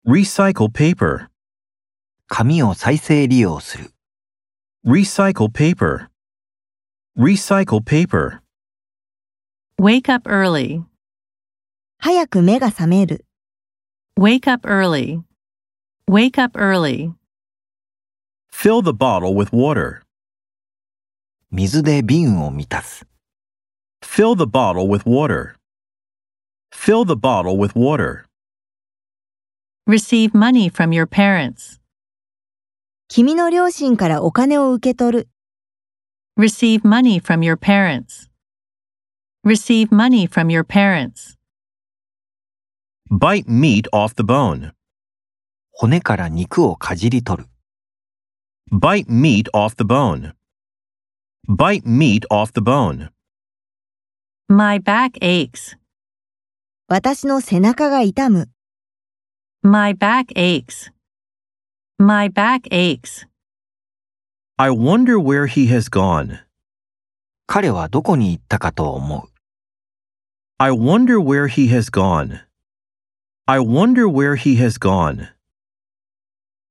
Recycle paper. 紙を再生利用する。 Recycle paper. Recycle paper. Wake up early. 早く目が覚める。 Wake up early. Wake up early. Fill the bottle with water. 水で瓶を満たす。 Fill the bottle with water. Fill the bottle with water. Receive money from your parents. 君の両親からお金を受け取る。 Receive money from your parents. Receive money from your parents. Bite meat off the bone. 骨から肉をかじり取る。 Bite meat off the bone. Bite meat off the bone. My back aches. 私の背中が痛む。 My back aches. My back aches. I wonder where he has gone. 彼はどこに行ったかと思う。 I wonder where he has gone. I wonder where he has gone.